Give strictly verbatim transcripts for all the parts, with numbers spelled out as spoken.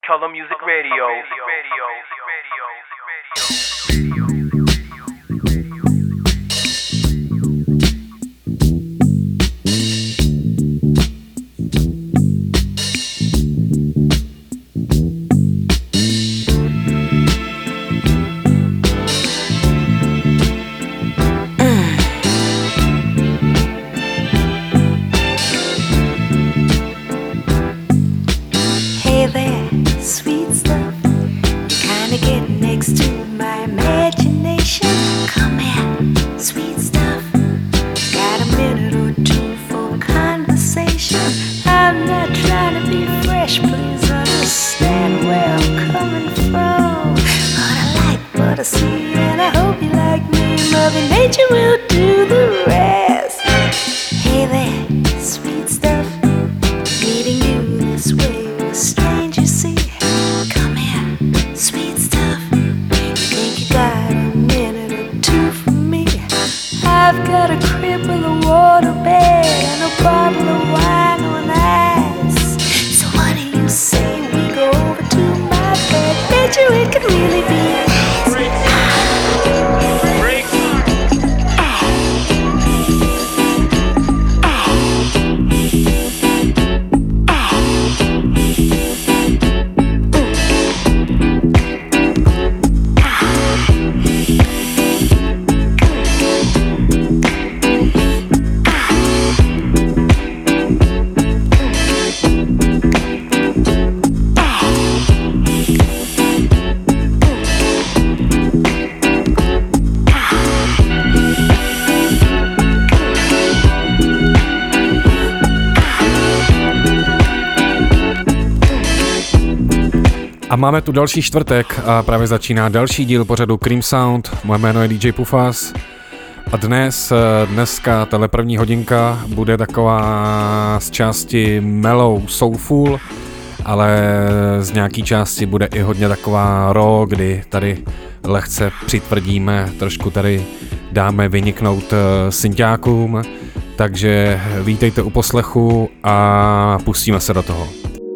Color Music Radio. A máme tu další čtvrtek a právě začíná další díl pořadu Cream Sound. Moje jméno je D J Pufas a dnes, dneska, tahle první hodinka bude taková z části mellow soulful, ale z nějaký části bude i hodně taková raw, kdy tady lehce přitvrdíme, trošku tady dáme vyniknout synťákům, takže vítejte u poslechu a pustíme se do toho.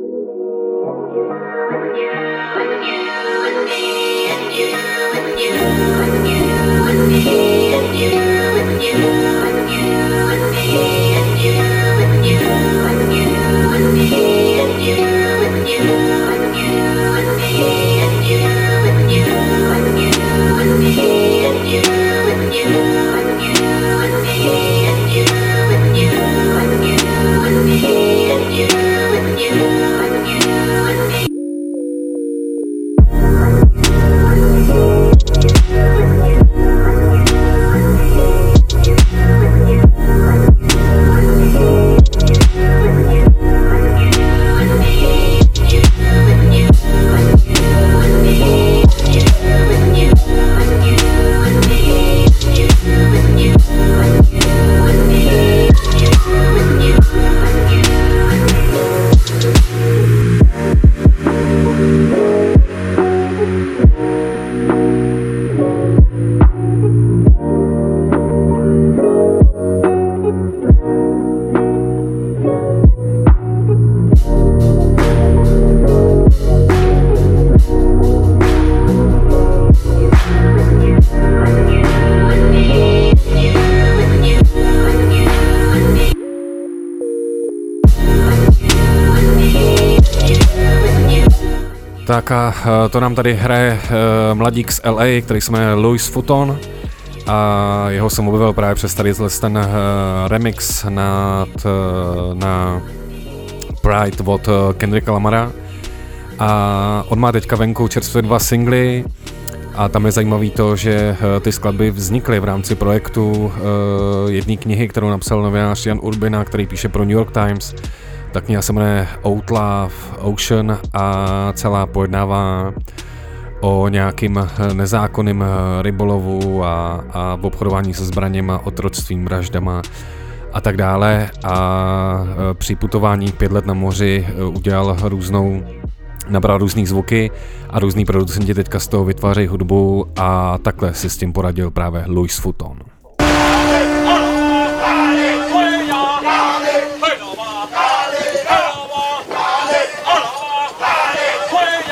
Tak a to nám tady hraje mladík z L A, který se jmenuje Louis Vuitton a jeho jsem objevil právě přes tady ten remix na, na Pride od Kendricka Lamara a on má teďka venku čerstvě dva singly a tam je zajímavý to, že ty skladby vznikly v rámci projektu jedné knihy, kterou napsal novinář Jan Urbina, který píše pro New York Times. Ta kniha se jmenuje Outlaw Ocean a celá pojednává o nějakým nezákonným rybolovu a, a obchodování se zbraněma, otroctvím, vraždama a tak dále. A při putování pět let na moři udělal různou, nabral různý zvuky a různý producenti teďka z toho vytvářejí hudbu a takhle si s tím poradil právě Louis Vuitton. Hey!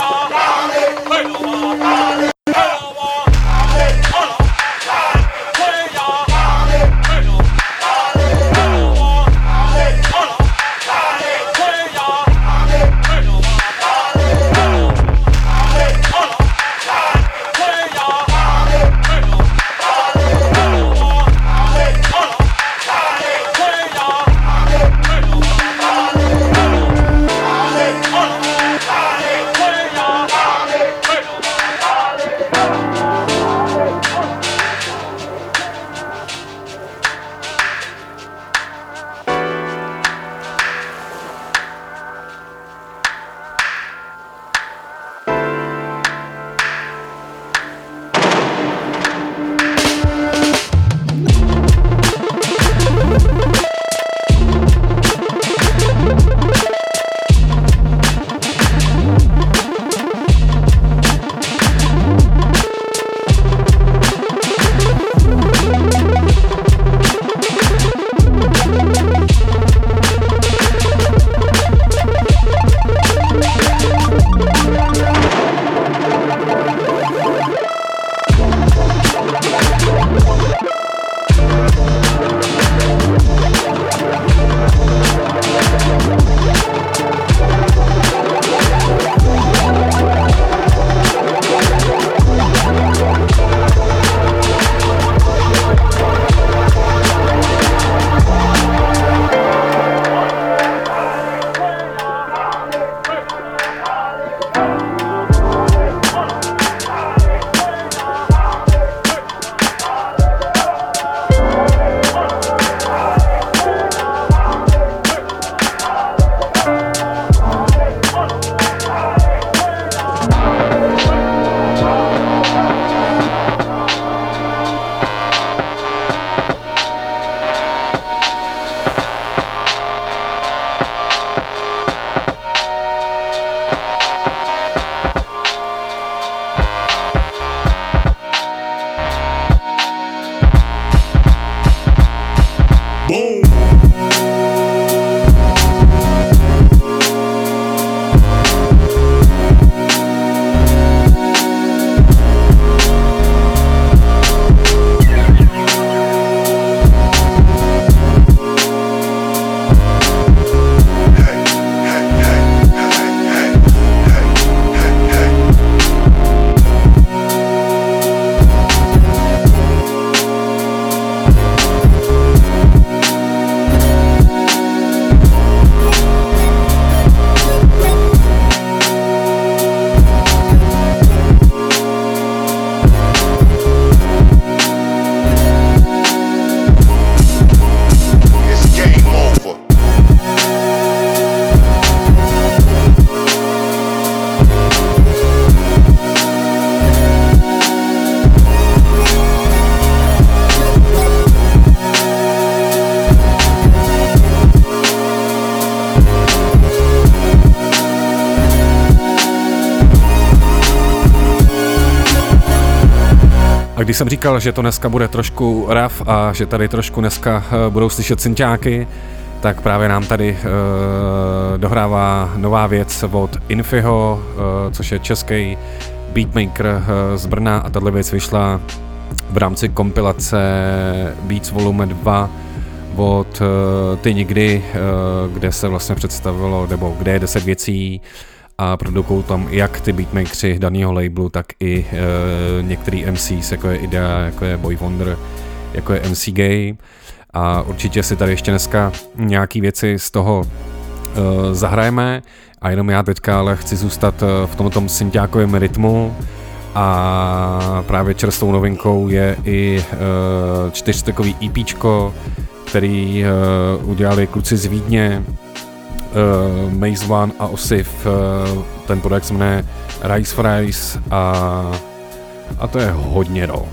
A když jsem říkal, že to dneska bude trošku rough a že tady trošku dneska budou slyšet synťáky, tak právě nám tady uh, dohrává nová věc od Infiho, uh, což je český beatmaker uh, z Brna, a tato věc vyšla v rámci kompilace Beats Volume dva od uh, Ty nikdy, uh, kde se vlastně představilo, nebo kde je deset věcí a produkují tam jak ty beatmakeri daného labelu, tak i uh, některý M Cs, jako je Idea, jako je Boy Wonder, jako je M C Gay. A určitě si tady ještě dneska nějaký věci z toho uh, zahrajeme, a jenom já teďka ale chci zůstat uh, v tomto synťákovém rytmu, a právě čerstvou novinkou je i uh, čtyřstekový EPčko, který uh, udělali kluci z Vídně, uh, Maze One a Osif, uh, ten projekt se jmenuje Rice Fries, a, a to je hodně raw.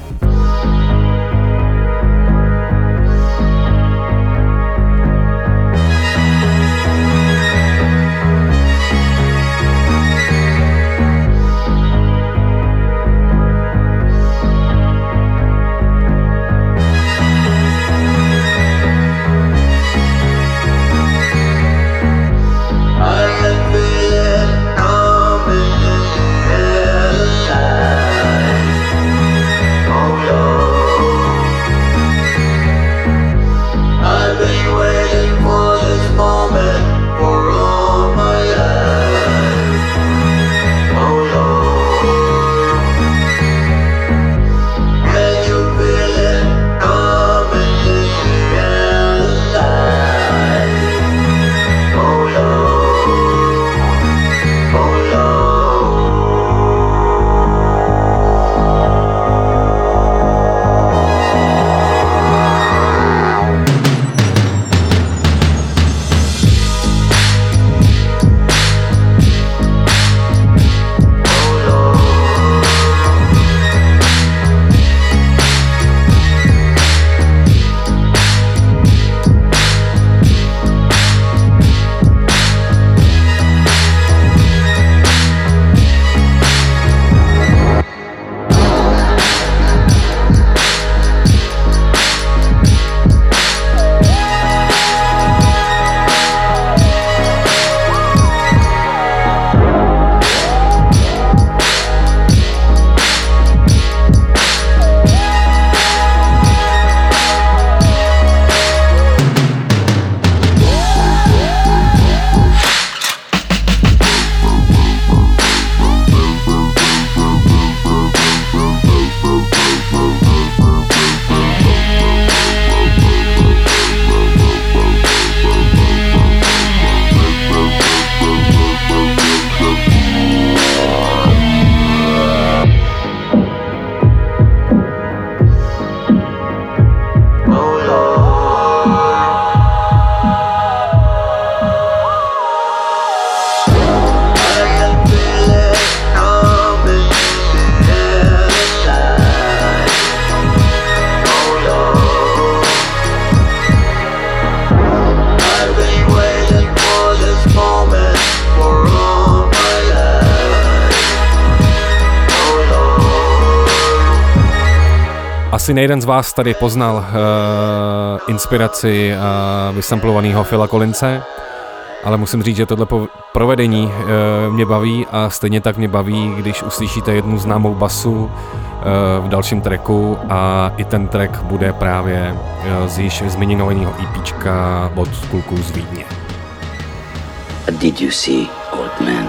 Asi nejden z vás tady poznal uh, inspiraci uh, vysamplovaného Phila Collinse, ale musím říct, že tohle po- provedení uh, mě baví, a stejně tak mě baví, když uslyšíte jednu známou basu uh, v dalším tracku, a i ten track bude právě uh, z již zmíněného EPčka od kluků z Vídně. What did you see, old man?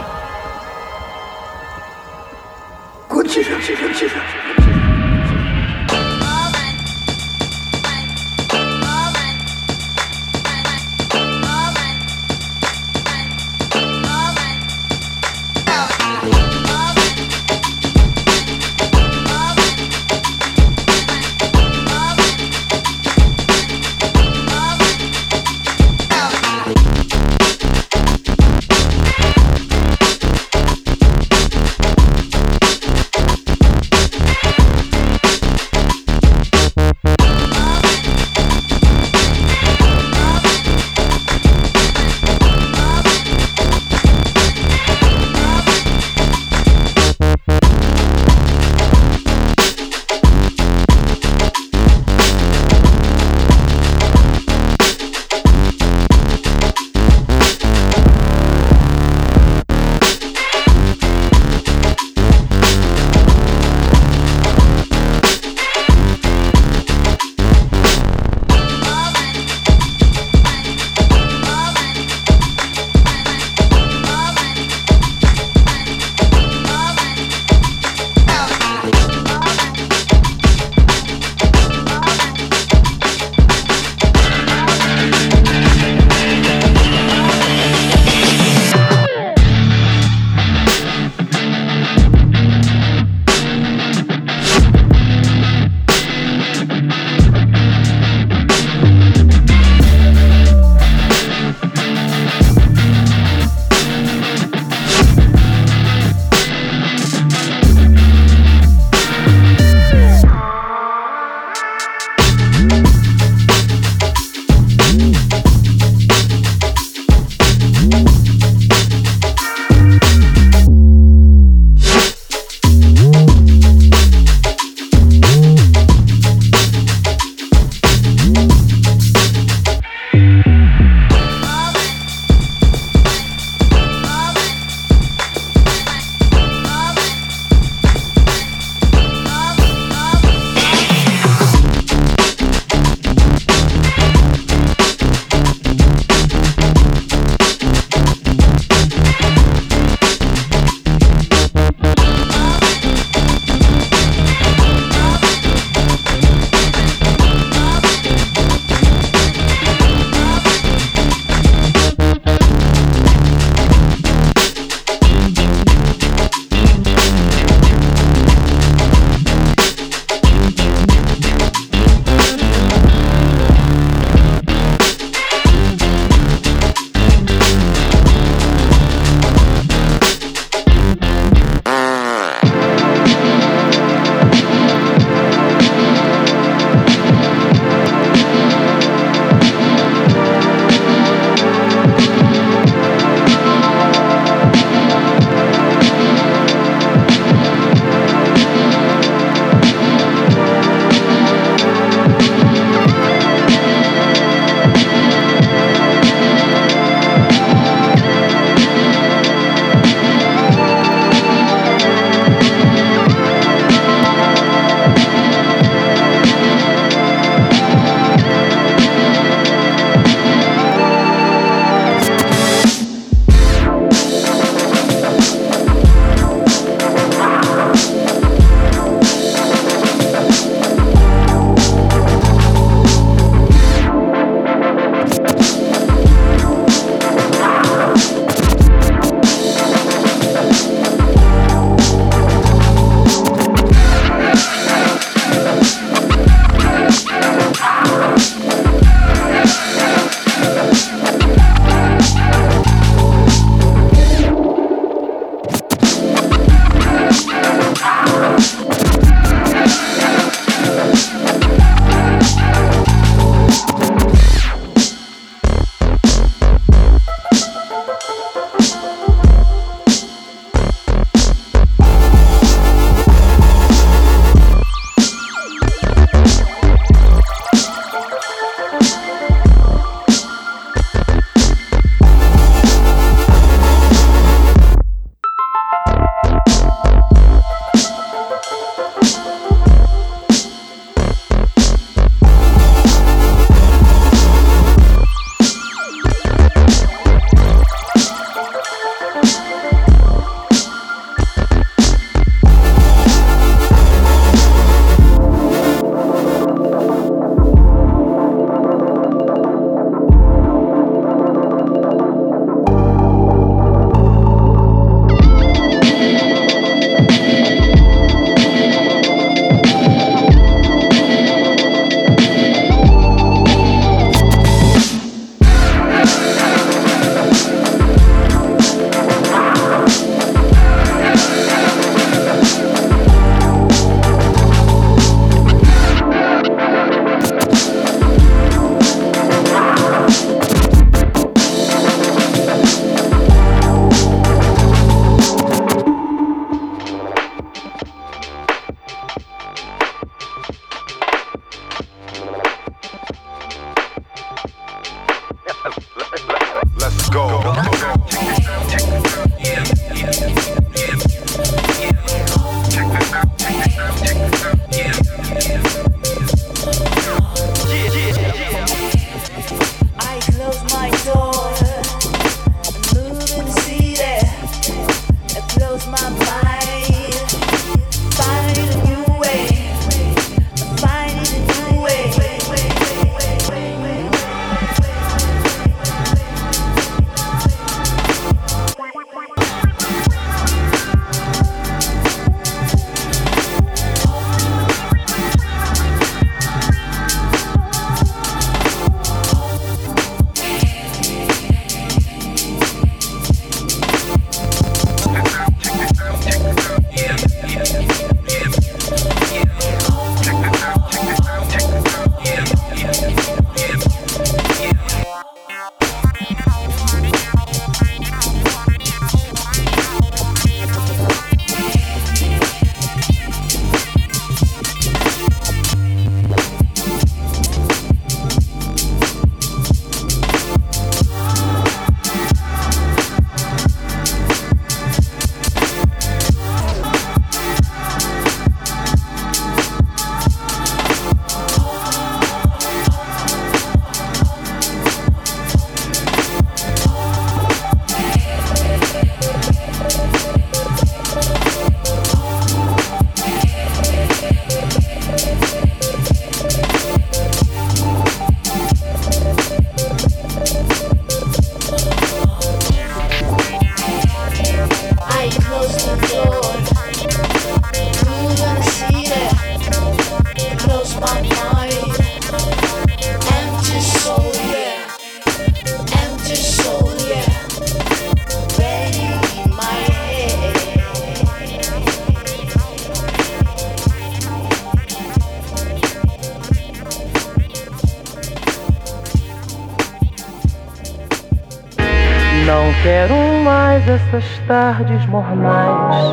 Quero mais essas tardes mornais.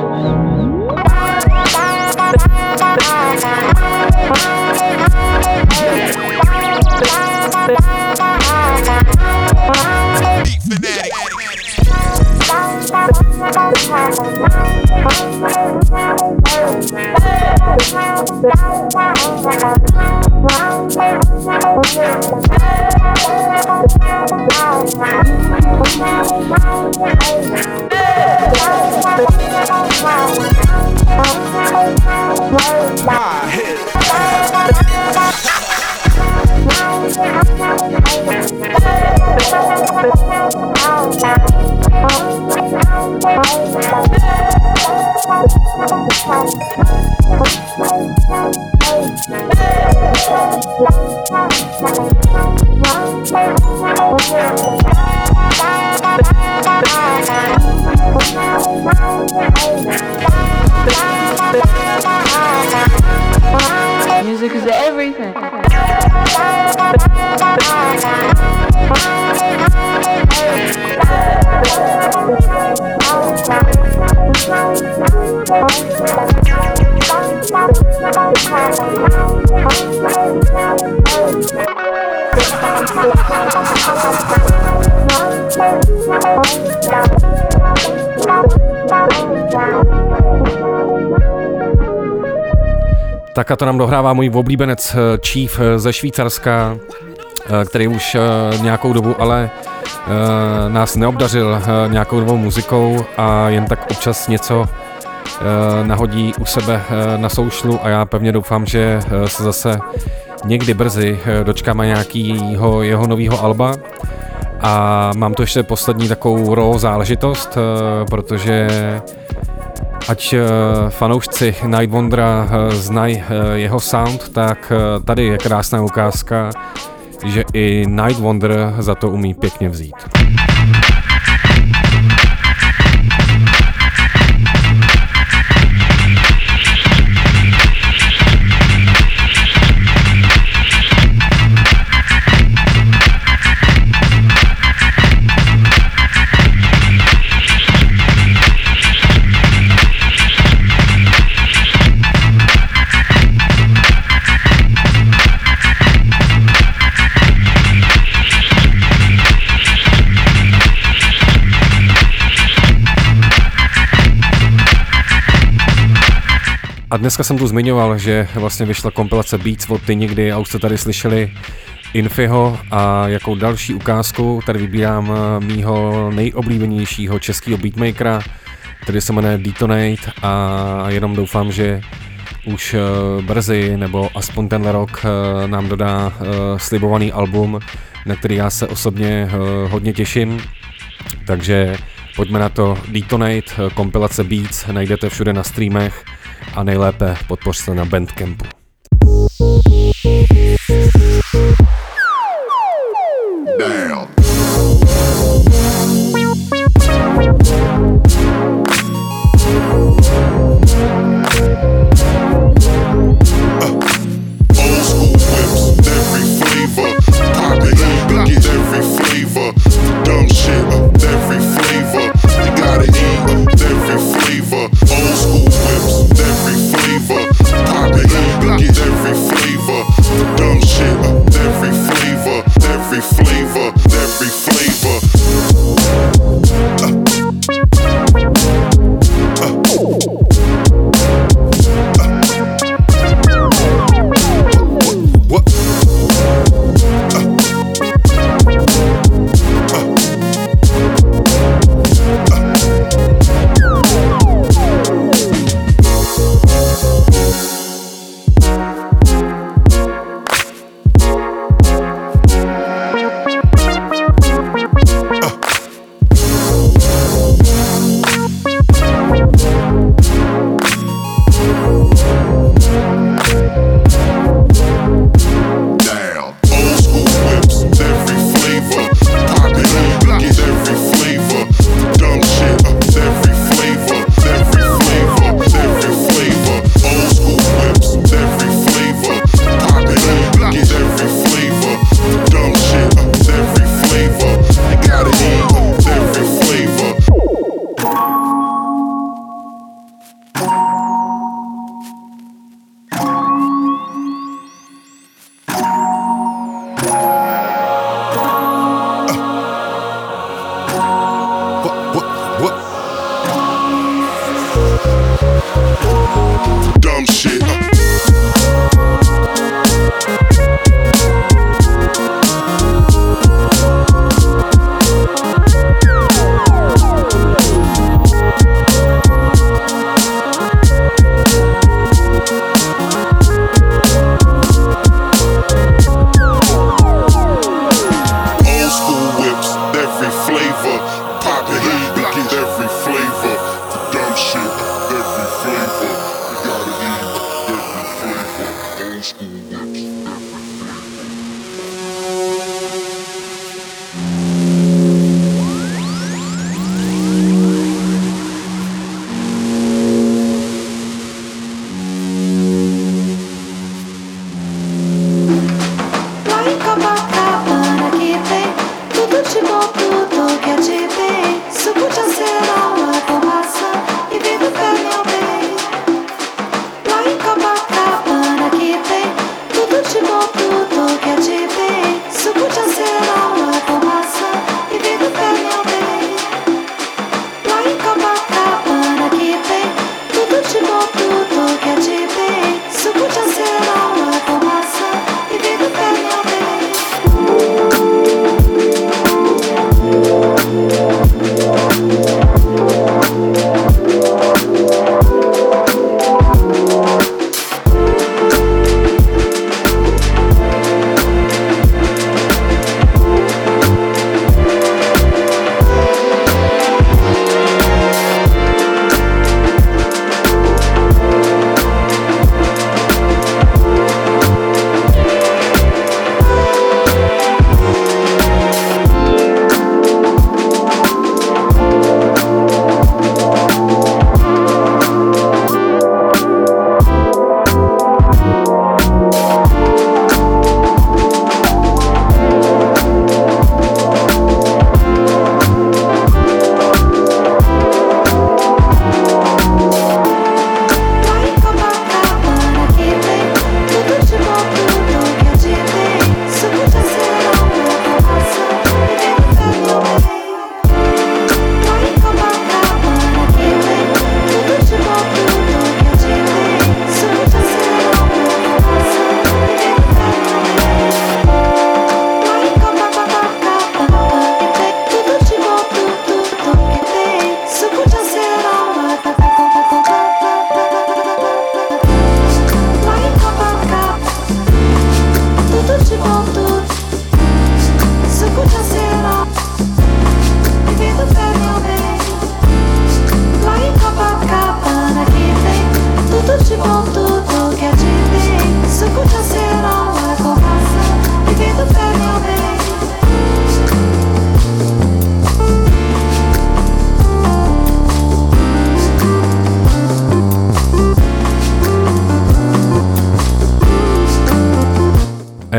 Music is everything. Tak a to nám dohrává můj oblíbenec Chief ze Švýcarska, který už nějakou dobu ale nás neobdařil nějakou novou muzikou a jen tak občas něco nahodí u sebe na soušlu a já pevně doufám, že se zase někdy brzy dočkáme nějakýho jeho nového alba. A mám tu ještě poslední takovou raw záležitost, protože ať fanoušci Night Wondera znají jeho sound, tak tady je krásná ukázka, že i Night Wonder za to umí pěkně vzít. A dneska jsem tu zmiňoval, že vlastně vyšla kompilace Beats od Ty nikdy a už jste tady slyšeli Infiho a jakou další ukázku tady vybírám mýho nejoblíbenějšího českého beatmakera, který se jmenuje Detonate a jenom doufám, že už brzy nebo aspoň tenhle rok nám dodá slibovaný album, na který já se osobně hodně těším, takže pojďme na to. Detonate, kompilace Beats, najdete všude na streamech a nejlépe podpořte na Bandcampu. Damn. Get every flavor.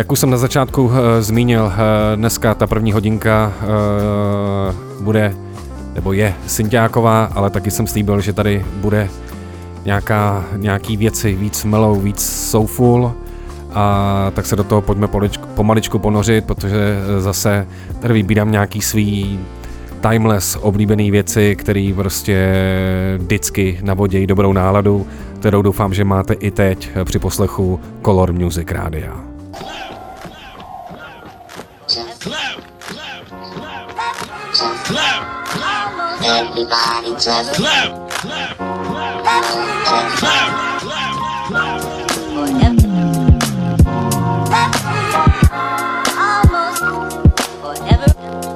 jak už jsem na začátku uh, zmínil, uh, dneska ta první hodinka uh, bude, nebo je synťáková, ale taky jsem slíbil, že tady bude nějaká, nějaký věci víc mellow, víc soulful, a tak se do toho pojďme poličku, pomaličku ponořit, protože zase tady vybírám nějaký svý timeless oblíbený věci, které prostě vždycky navodějí dobrou náladu, kterou doufám, že máte i teď při poslechu Color Music Rádia. Everybody just clap, clap, clap, clap, clap, clap. Almost forever.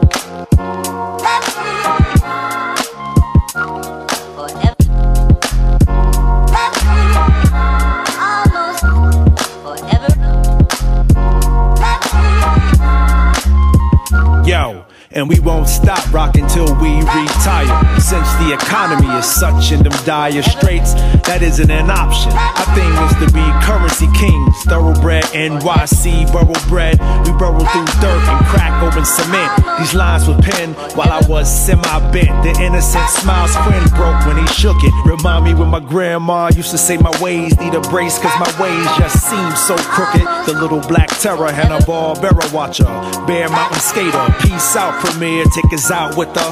Yo, and we won't stop rocking till we retire. Since the economy is such in them dire straits, that isn't an option. Our thing is to be currency kings, thoroughbred N Y C, burrowbred. We burrow through dirt and crack open cement. These lines were penned while I was semi-bent. The innocent smile squint broke when he shook it. Remind me when my grandma used to say my ways need a brace, cause my ways just seem so crooked. The little black terror, Hanna-Barbera watcher, Bear Mountain skater. Peace out, Premier, take us out with the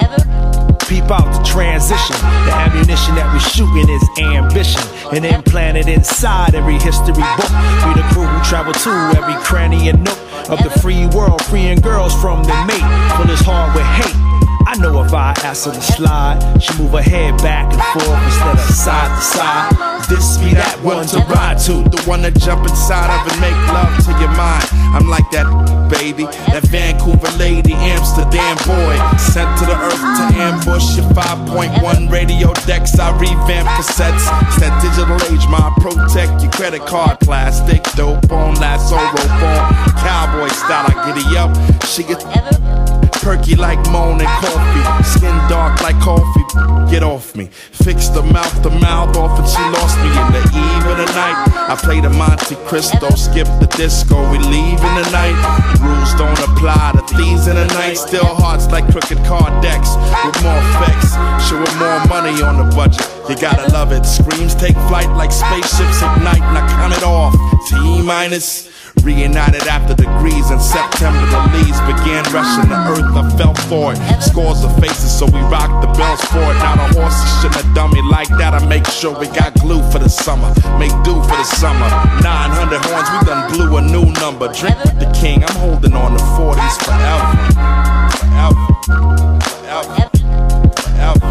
peep out the transition. The ammunition that we shooting is ambition, and implanted inside every history book. We the crew who travel to every cranny and nook of the free world, freeing girls from the mate, fill his heart with hate. I know if I ask her to slide, she move her head back and forth instead of side to side. This be that one to ride to, the one to jump inside of and make love to your mind. I'm like that baby, that Vancouver lady, Amsterdam boy, sent to the earth to ambush your five point one radio decks. I revamp cassettes. It's that digital age, ma. Protect your credit card, plastic, dope on, lasso, rope on, cowboy style. I giddy up, she gets perky like moan and coffee, skin dark like coffee. Get off me, fix the mouth, the mouth off, and she lost me in the eve of the night. I play the Monte Cristo, skip the disco, we leave in the night. Rules don't apply to thieves in the night. Still hearts like crooked card decks with more effects, showing more money on the budget. You gotta love it. Screams take flight like spaceships ignite, and I count it off. T minus. Reunited after degrees in September, the leaves began rushing the earth. I fell for it. Scores of faces, so we rocked the bells for it. Now the horses shouldn't have done me like that. I make sure we got glue for the summer, make do for the summer. nine hundred horns, we done blew a new number. Drink with the king, I'm holding on to forties forever, forever, forever, forever, forever,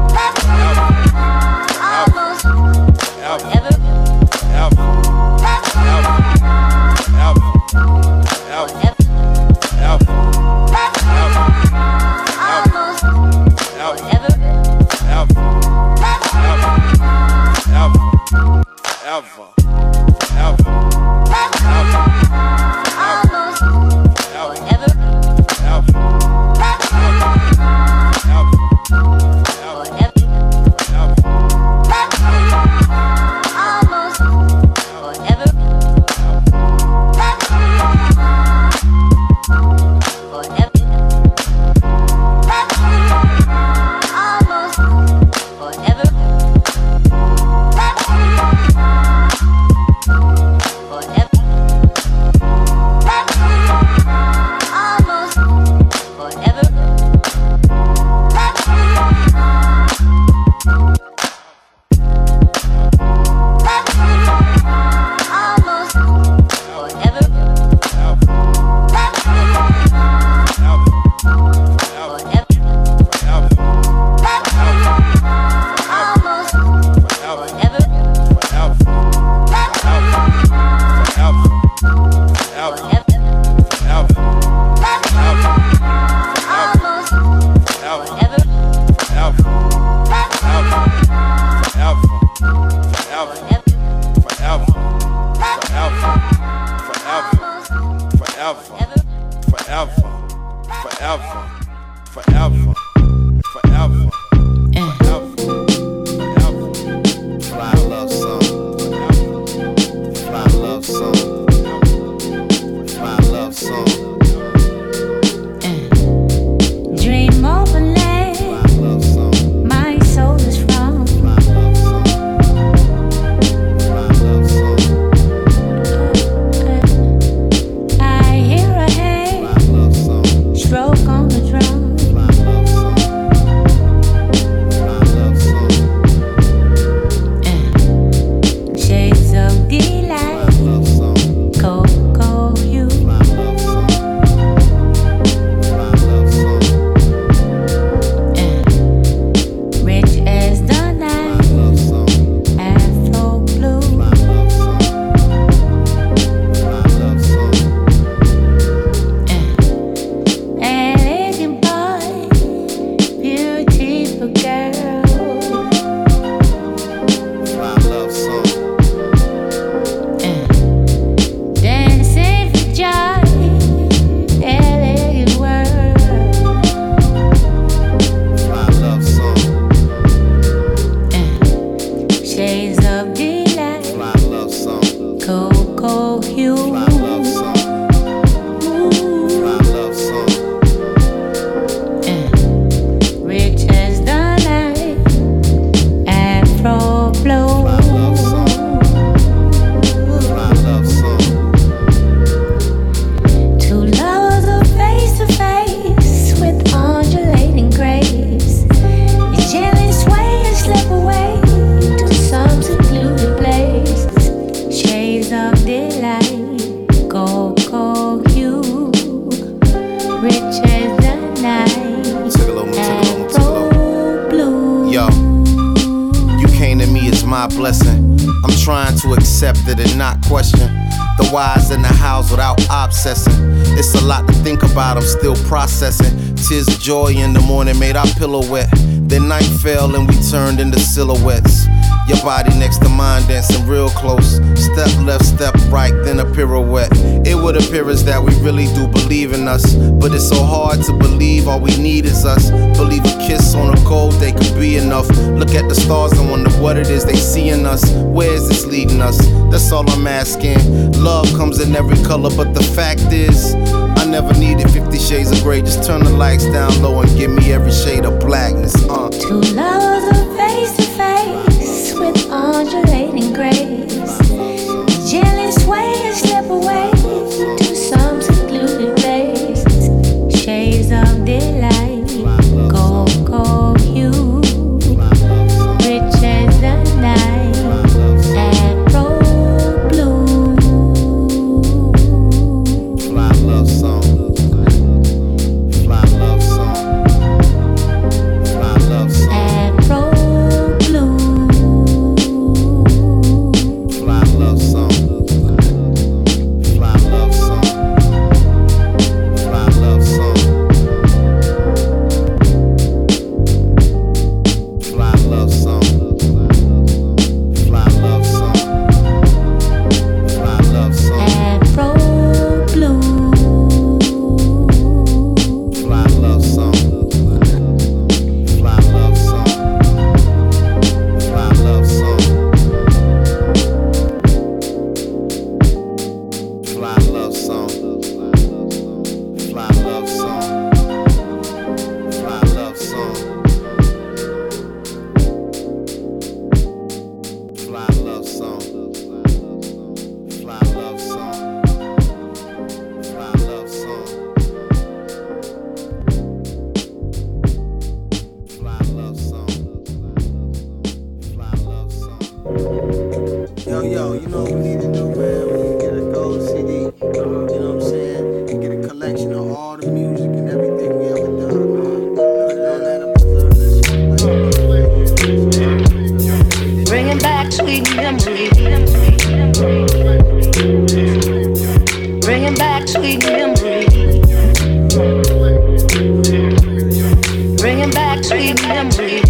forever, forever, forever. Shades of delight. Fly love song. Cocoa hue. Fly love song. Fly love song. Uh, rich as the night. Afro blow. Fly love song. Fly love song. Two lovers are face to face with undulating grace. You gently sway and slip away to some secluded place. Shades of delight, cocoa hue, rich as the night, Take a little more, take a little more, take a little afro blue. Yo, you came to me as my blessing. I'm trying to accept it and not question the whys in the house without obsessing. It's a lot to think about, I'm still processing. Tears of joy in the morning made our pillow wet. Then night fell and we turned into silhouettes. Your body next to mine dancing real close. Step left, step right, then a pirouette. It would appear as that we really do believe in us, but it's so hard to believe all we need is us. Believe a kiss on a cold day could be enough. Look at the stars and wonder what it is they see in us. Where is this leading us? That's all I'm asking. Love comes in every color, but the fact is I never needed fifty shades of gray. Just turn the lights down low and give me every shade of blackness. Uh. Two lovers are face to face with undulating grace. Gently sway and slip away to some secluded place. Shades of delight, cocoa hue, rich as the night, afro blue. Fly love song. Fly love song. Fly love song. Afro blue. Fly love song. Fly love song. Fly love song. Fly love song. Fly love song. Fly love song. Afro blue. Fly love song. Fly love song. Fly love song. Fly love song. Fly love song. Fly love song. Fly love song. Fly love song. Fly love song. Fly love song. Fly love song. Yo, yo, you know what we need to do, man? We need to get a gold C D, uh, you know what I'm saying? And get a collection of all the music and everything we ever done, man. Put it on that and preserve this shit. Bringing back sweet memories. Bringing back sweet memories. Bringing back sweet memories.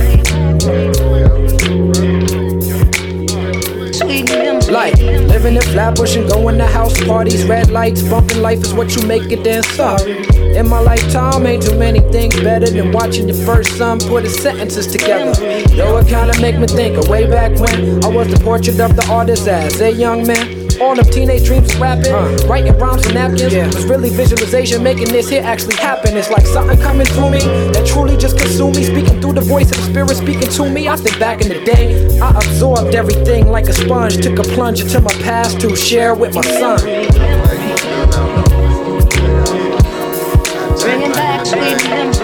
Sweet memories. Like living in Flatbush and going to house parties, red lights, bumping life is what you make it, then sorry. In my lifetime, ain't too many things better than watching your first son put his sentences together. Though it kinda make me think of way back when I was the portrait of the artist as a young man. All them teenage dreams of rapping, uh, writing rhymes on napkins, yeah. Was really visualization, making this here actually happen. It's like something coming through me that truly just consumed me, speaking through the voice of the spirit speaking to me. I think back in the day, I absorbed everything like a sponge, took a plunge into my past to share with my son. Bringing back sweet memories.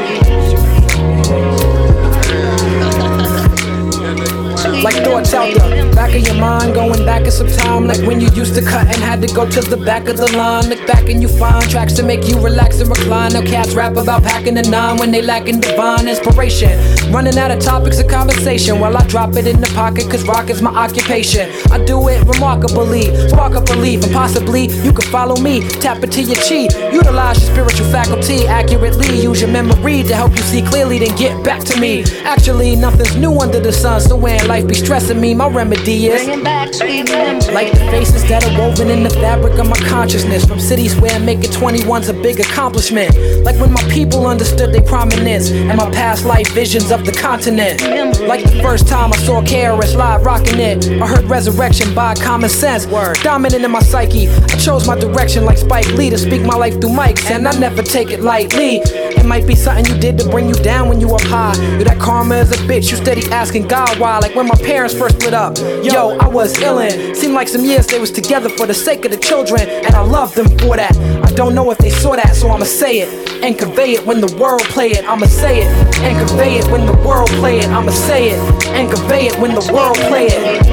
Like thoughts out the back of your mind, going back in some time, like when you used to cut and had to go to the back of the line. Look back and you find tracks to make you relax and recline. Now cats rap about packing a nine when they lacking divine inspiration. Running out of topics of conversation while I drop it in the pocket, cause rock is my occupation. I do it remarkably, spark up belief, and possibly you can follow me. Tap into your chi, utilize your spiritual faculty accurately. Use your memory to help you see clearly, then get back to me. Actually, nothing's new under the sun, so when life be stressing me, my remedy is bringing back sweet memories. like the faces that are woven in the fabric of my consciousness. From cities where making twenty-one's a big accomplishment. Like when my people understood their prominence and my past life visions of the continent. Like the first time I saw K R S Live rocking it, I heard Resurrection by Common Sense. Word. Dominant in my psyche, I chose my direction like Spike Lee to speak my life through mics, and I never take it lightly. It might be something you did to bring you down when you up high. You that karma is a bitch, you steady asking God why. Like when my parents first split up, yo, I was illin'. Seemed like some years they was together for the sake of the children, and I loved them for that. I don't know if they saw that, so I'ma say it and convey it when the world play it. I'ma say it and convey it when the world play it. I'ma say it and convey it when the world play it.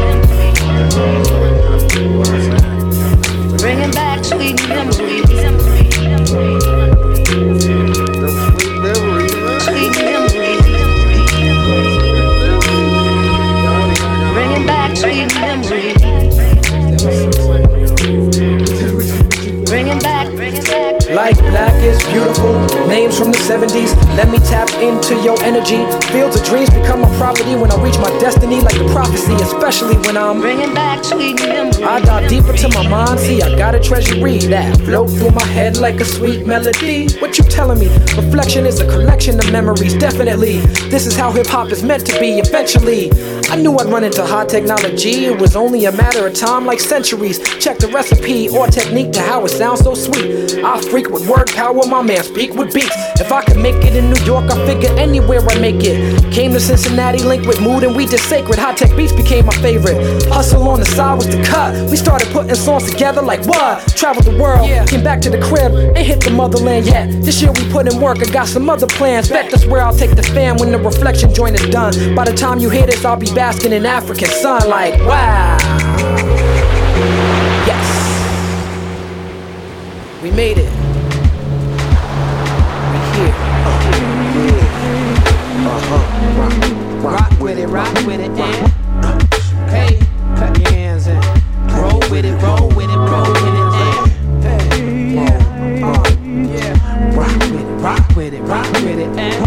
Bringing back sweet memories. Sweet memories. Bringing back sweet memories. Bringing back, bringing back. Like black is beautiful, names from the seventies. Let me tap into your energy. Fields of dreams become my property when I reach my destiny, like the prophecy, especially when I'm bringing back sweet memories. I dive deeper to my mind, see I got a treasury that float through my head like a sweet melody. What you telling me? Reflection is a collection of memories, definitely. This is how hip-hop is meant to be eventually. I knew I'd run into high technology. It was only a matter of time, like centuries. Check the recipe or technique to how it sounds so sweet. I freak with word power, my man speak with beats. If I could make it in New York, I figure anywhere I make it. Came to Cincinnati, linked with Mood, and we did sacred. High tech beats became my favorite. Hustle on the side was the cut. We started putting songs together like what? Traveled the world, came back to the crib, ain't hit the motherland yet. This year we put in work, I got some other plans. Bet that's where I'll take the fam when the reflection joint is done. By the time you hear this, I'll be basking in African sun like wow. Yes, we made it. We here. Uh-huh. Rock, rock, Rock with it, rock with it, and Hey, clap your hands and roll with it, roll with it, roll with it, and hey, yeah, uh, yeah. rock with it, rock with it, rock with it, and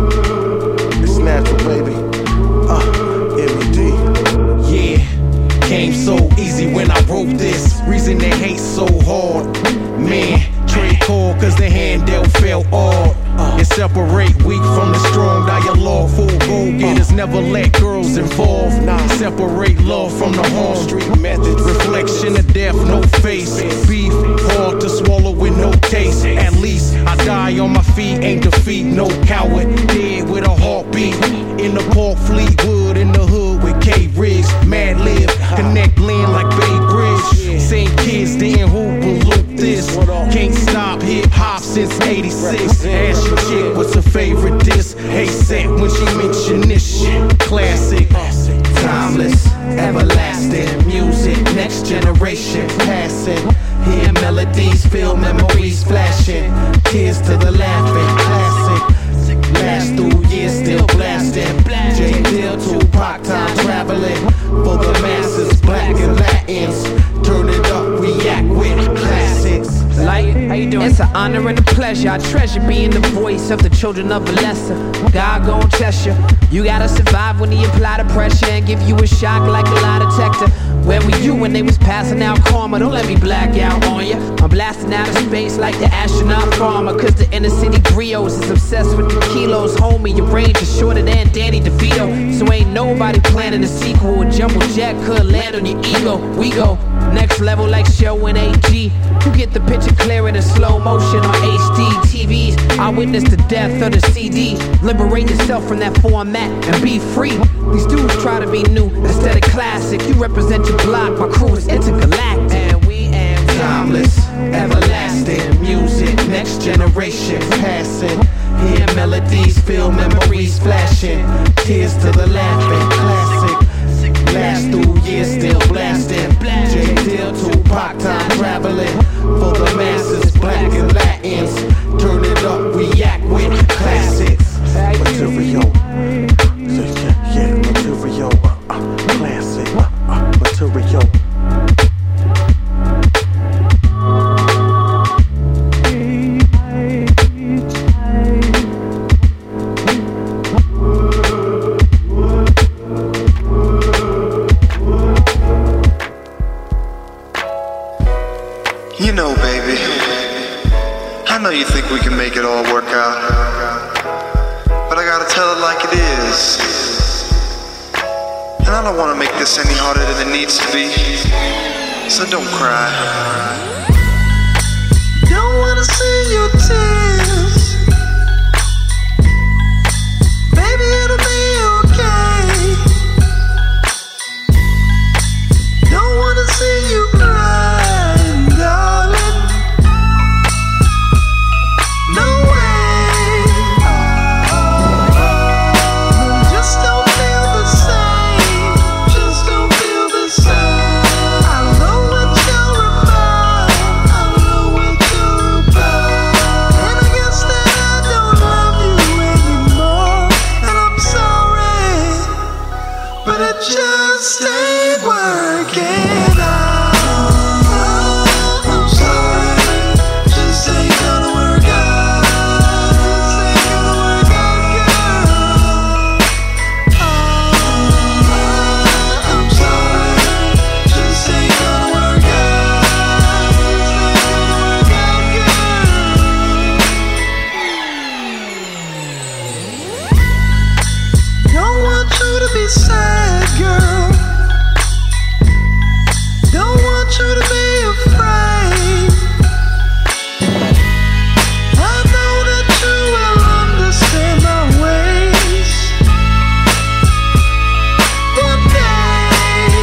it's natural, baby. Uh, M E D. Yeah, came so easy when I wrote this. Reason they hate so hard. Man, trade call cause the handle fell off. And separate weak from the strong dialogue. Full go-getters never let girls involved. Nah, separate love from the harm. Street methods, reflection of death, no face. Beef, hard to swallow with no taste. At least I die on my feet, ain't defeat, no coward. Dead with a heartbeat. In the park, Fleetwood, in the hood with K Riggs. Mad Lib, connect land like Bay Bridge. Same kids didn't hoop and loop this. Can't stop hip hop since eighty-six. Ask your chick what's her favorite diss. Hey, set when she mention this shit. Classic, timeless, everlasting music. Next generation passing. Hear melodies, feel memories flashing. Tears to the laughing, classic. Last through years, still blasting. J. Dill, Tupac, time traveling. For the masses, black and Latins. Turn it up, react with classics. Like, how you doing? It's an honor and a pleasure. I treasure being the voice of the children of a lesser. God gon' test you. You gotta survive when he apply the pressure and give you a shock like a lie detector. Where were you when they was passing out karma? Don't let me black out on ya. I'm blasting out of space like the astronaut farmer. Cause the inner city griots is obsessed with the kilos. Homie, your range is shorter than Danny DeVito. So ain't nobody planning a sequel. A jumbo jet could land on your ego. We go next level like Show and A G. You get the picture clear in slow motion on H D T Vs. I witnessed the death of the C D. Liberate yourself from that format and be free. These dudes try to be new instead of classic. You represent your block, my crew is intergalactic. And we am timeless, everlasting music. Next generation passing. Hear melodies, feel memories flashing. Tears to the laughing, classic. Last through years, still blasting. J. Dill, Tupac, time traveling. For the masses, black and Latins. Turn it up, react with classics. Material. Yeah, yeah, material. Uh, uh, classic. Uh, uh, material. we can make it all work out. But I gotta tell it like it is. And I don't wanna make this any harder than it needs to be. So don't cry. Don't wanna see your tears. Baby, it'll be okay. Don't wanna see you crying, darling. No way. Just don't feel the same. Just don't feel the same. I know what you're about. I know what you're about. And I guess that I don't love you anymore. And I'm sorry, but it just ain't working out. I'm sorry, just ain't gonna work out. Just ain't gonna work out, girl. I'm sorry, just ain't gonna work out. Just ain't gonna work out, girl. Don't want you to be sad, girl. Don't want you to be afraid. I know that you will understand my ways. One day.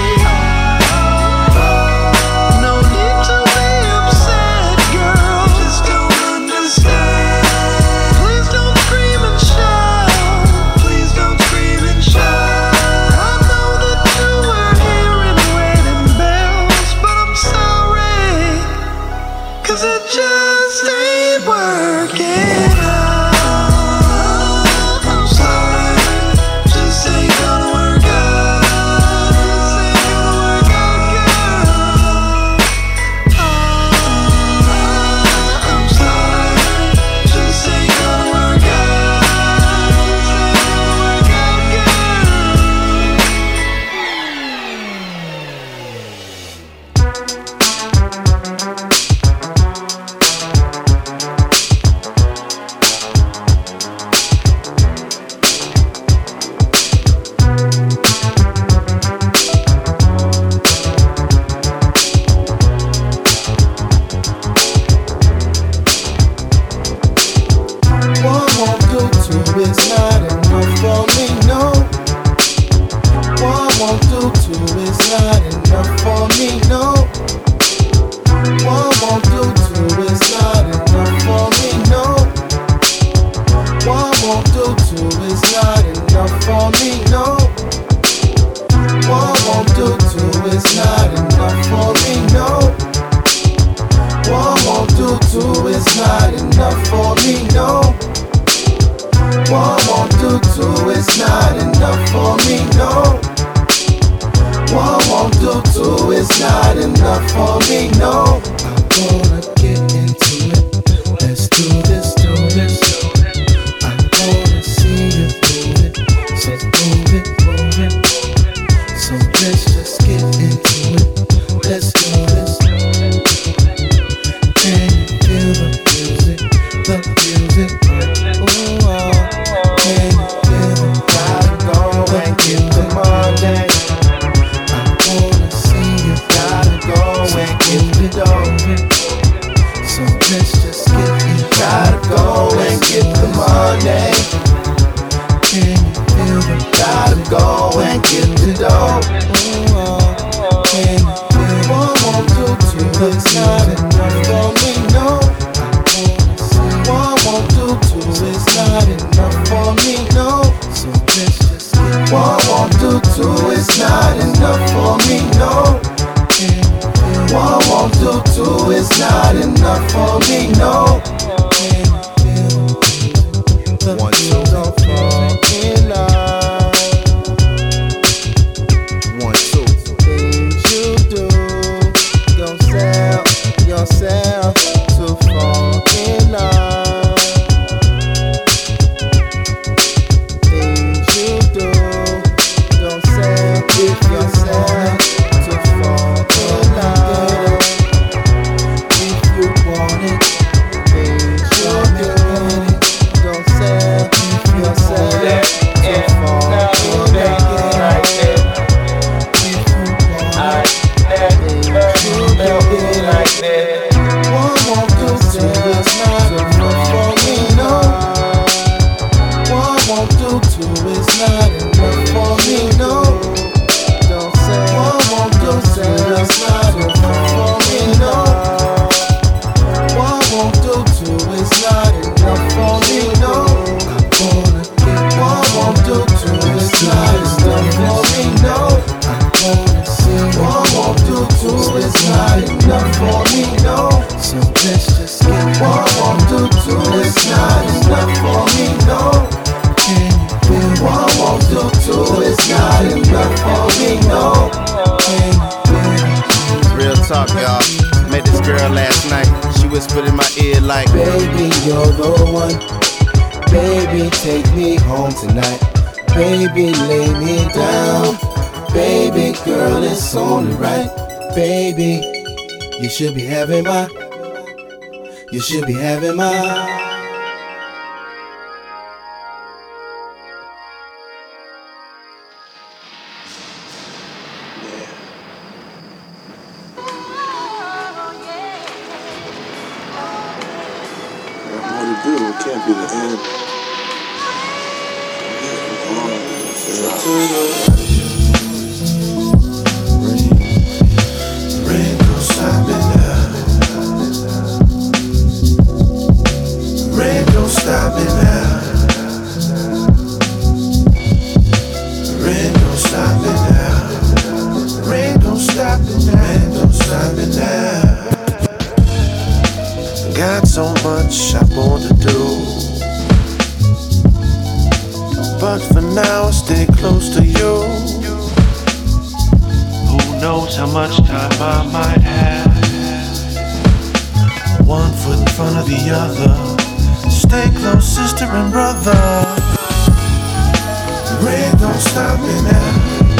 No need to be upset, girl. Just don't understand. Please don't scream and shout. Please don't scream and shout. I know that you were hearing wedding bells, but I'm sorry, 'cause it just ain't working out. I'm sorry, just ain't gonna work out. Just ain't gonna work out, girl. I'm sorry, just ain't gonna work out. Just ain't gonna work out, One won't do, two is not enough for me, no. One won't do, two is not enough for me, no. One won't do, two is not enough for me, no. One won't do, two is not enough for me, no. One won't do, two is not enough for me, no. One won't do, two is not enough for me, no. One won't do, two is not enough for me, no. One won't do, two is not enough for me, no. I'm gonna get into it. Let's do this, do this. I'm gonna see you move it. So move it, move it. So let's just get into it. Let's do this. Can you feel the music? The music. Ooh, oh. Can you feel it? Gotta go and get the money. I wanna see you. Gotta go and get the dough. So let's just get it. Gotta go and get the money. Can you feel it? Gotta go and get the dough. Ooh, oh. Can you feel it? One won't do, two is not enough for me, no. One won't do, two is not enough for me, no. So let's just get it. One won't do, two is not enough for me, no. One won't do, two is not enough for me, no. One, two, don't fall in love. One, two. Things you do, don't sell yourself to fall in love. Things you do, don't sell yourself to fall in love. If you want it, things you do. whispered in my ear like, baby, you're the one. Baby, take me home tonight. Baby, lay me down. Baby, girl, it's only right. Baby, you should be having my, you should be having my. Can't be the end. Rain don't stop me now. Rain don't stop me now. Rain don't stop me now. Rain don't stop me now. Rain don't stop me now. Got so much I want to do, but for now I stay close to you. Who knows how much time I might have? One foot in front of the other. Stay close, sister and brother. Rain don't stop me now.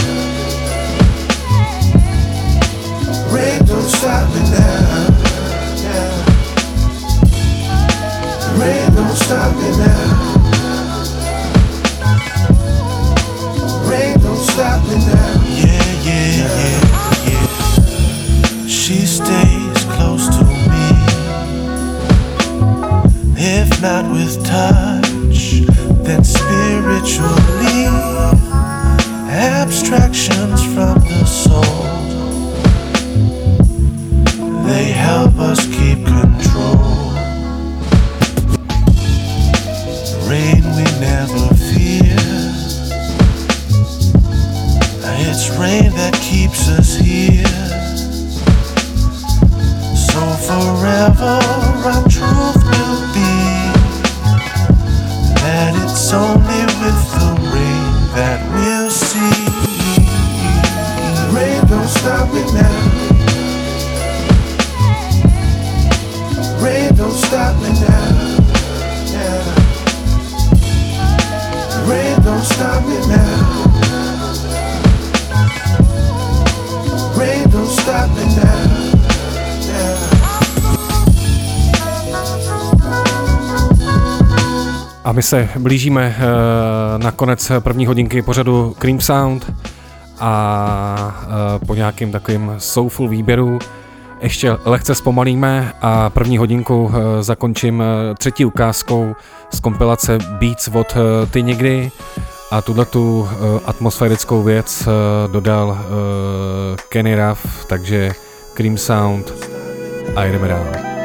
Rain don't stop me now. Rain don't stop me now. Rain don't stop me now. Yeah, yeah, yeah, yeah. She stays close to me. If not with touch, then spiritually. Abstractions from the soul, they help us keep control. Rain we never fear. It's rain that keeps us here. So forever our truth will be that it's only with the rain that we'll see. Rain don't stop me now. Rain don't stop me now. Yeah. Rain don't stop me now. Rain don't stop me now. Yeah. A my se blížíme uh, na konec první hodinky pořadu Cream Sound a uh, po nějakým takovým soulful výběru ještě lehce zpomalíme a první hodinku uh, zakončím uh, třetí ukázkou z kompilace Beats od uh, Ty někdy a tuhletu uh, atmosférickou věc uh, dodal uh, Kenny Ruff, takže Cream Sound a jdeme dál.